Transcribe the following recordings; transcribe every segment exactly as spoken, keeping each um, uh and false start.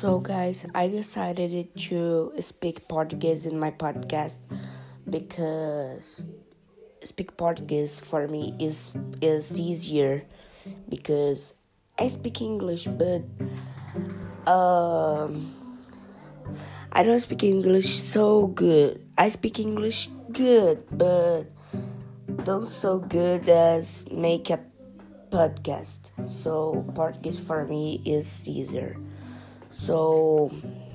So guys, I decided to speak Portuguese in my podcast because speak Portuguese for me is is easier because I speak English, but um I don't speak English so good. I speak English good, but don't so good as make a podcast. So Portuguese for me is easier. So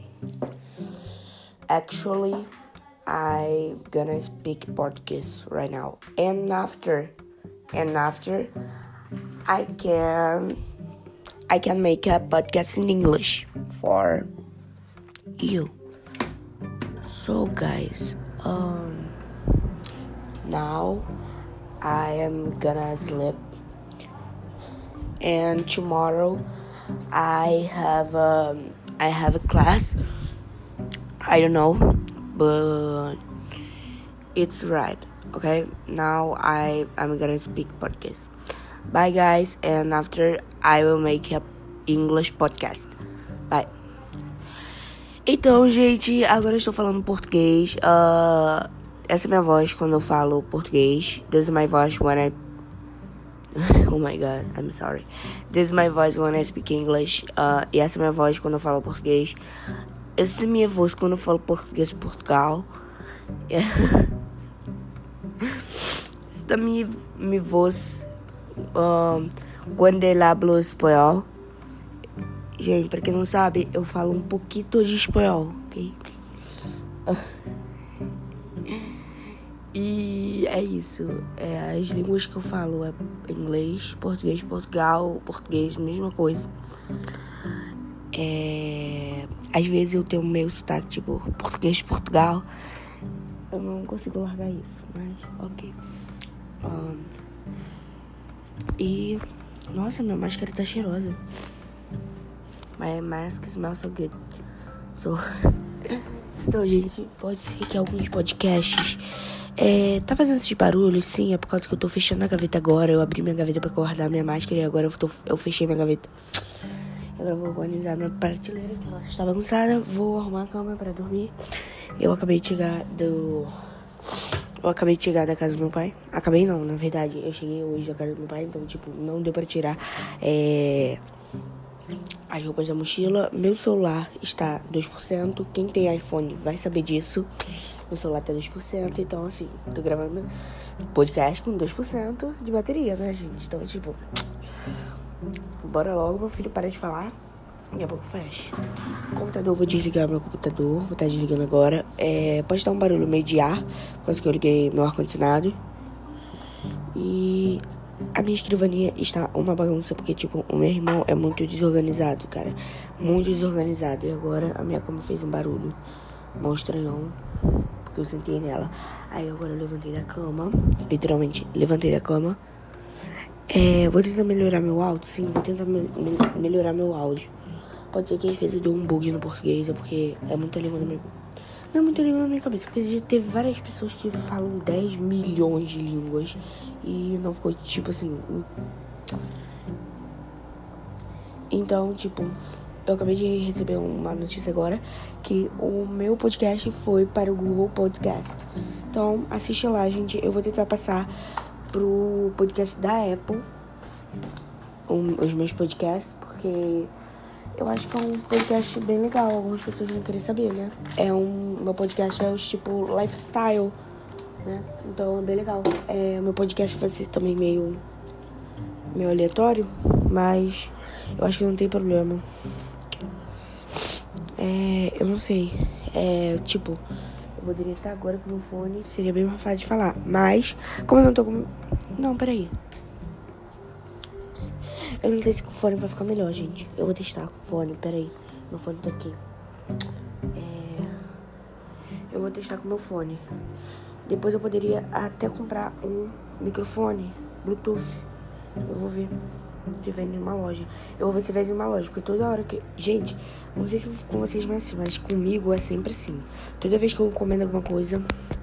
actually I gonna speak Portuguese right now, and after and after I can I can make a podcast in English for you. So guys, um now I am gonna sleep, and tomorrow I have um I have a class. I don't know, but it's right. Okay, now I I'm gonna speak podcast. Bye guys, and after I will make a English podcast. Bye. Então, gente, agora eu estou falando português. Uh, essa é minha voz quando eu falo português. This is my voice when I oh my god, I'm sorry. This is my voice when I speak English. Uh, e essa é minha voz quando eu falo português. Essa é minha voz quando eu falo português de Portugal. Esta é minha, minha voz um, quando eu hablo espanhol. Gente, pra quem não sabe, eu falo um pouquinho de espanhol, ok? E é isso. É, as línguas que eu falo é inglês, português, Portugal, português, mesma coisa. É, às vezes eu tenho meio sotaque, tipo, português de Portugal. Eu não consigo largar isso, mas ok. Um, e, nossa, minha máscara tá cheirosa. My mask smells so good. So, então, gente, pode ser que alguns podcasts é, tá fazendo esses barulhos, sim, é por causa que eu tô fechando a gaveta agora. Eu abri minha gaveta pra guardar minha máscara e agora eu, tô, eu fechei minha gaveta. Agora eu vou organizar minha prateleira, que ela está bagunçada. Vou arrumar a cama pra dormir. Eu acabei de chegar do... Eu acabei de chegar da casa do meu pai. Acabei não, na verdade. Eu cheguei hoje da casa do meu pai, então, tipo, não deu pra tirar é... as roupas da mochila. Meu celular está dois por cento. Quem tem iPhone vai saber disso. Meu celular tá dois por cento. Então, assim, tô gravando podcast com dois por cento de bateria, né, gente? Então, tipo... bora logo, meu filho, para de falar. Daqui a pouco fecha. Computador, vou desligar meu computador. Vou estar desligando agora. É, pode dar um barulho meio de ar, por causa que eu liguei meu ar-condicionado. E a minha escrivaninha está uma bagunça, porque, tipo, o meu irmão é muito desorganizado, cara. Muito desorganizado. E agora a minha cama fez um barulho mal estranhão, porque eu sentei nela. Aí agora eu levantei da cama. Literalmente, levantei da cama. É, vou tentar melhorar meu áudio, sim, vou tentar me- me- melhorar meu áudio. Pode ser que às vezes eu dê um bug no português, é porque é muita língua na minha... Não é muita língua na minha cabeça, porque já teve várias pessoas que falam dez milhões de línguas e não ficou, tipo assim... Então, tipo, eu acabei de receber uma notícia agora que o meu podcast foi para o Google Podcast. Então, assiste lá, gente, eu vou tentar passar pro podcast da Apple, um, os meus podcasts, porque eu acho que é um podcast bem legal. Algumas pessoas vão querer saber, né? É um, meu podcast é o tipo lifestyle, né? Então é bem legal. É, meu podcast vai ser também meio, meio aleatório, mas eu acho que não tem problema. É, eu não sei. É, tipo... Eu poderia estar agora com o meu fone, seria bem mais fácil de falar. Mas, como eu não tô com... Não, peraí. Eu não sei se com o fone vai ficar melhor, gente. Eu vou testar com o fone, peraí. Meu fone tá aqui. É... Eu vou testar com o meu fone. Depois eu poderia até comprar um microfone Bluetooth. Eu vou ver se vende em uma loja. Eu vou ver se vende em uma loja, porque toda hora que... Gente, não sei se com vocês é assim, mas comigo é sempre assim. Toda vez que eu encomendo alguma coisa,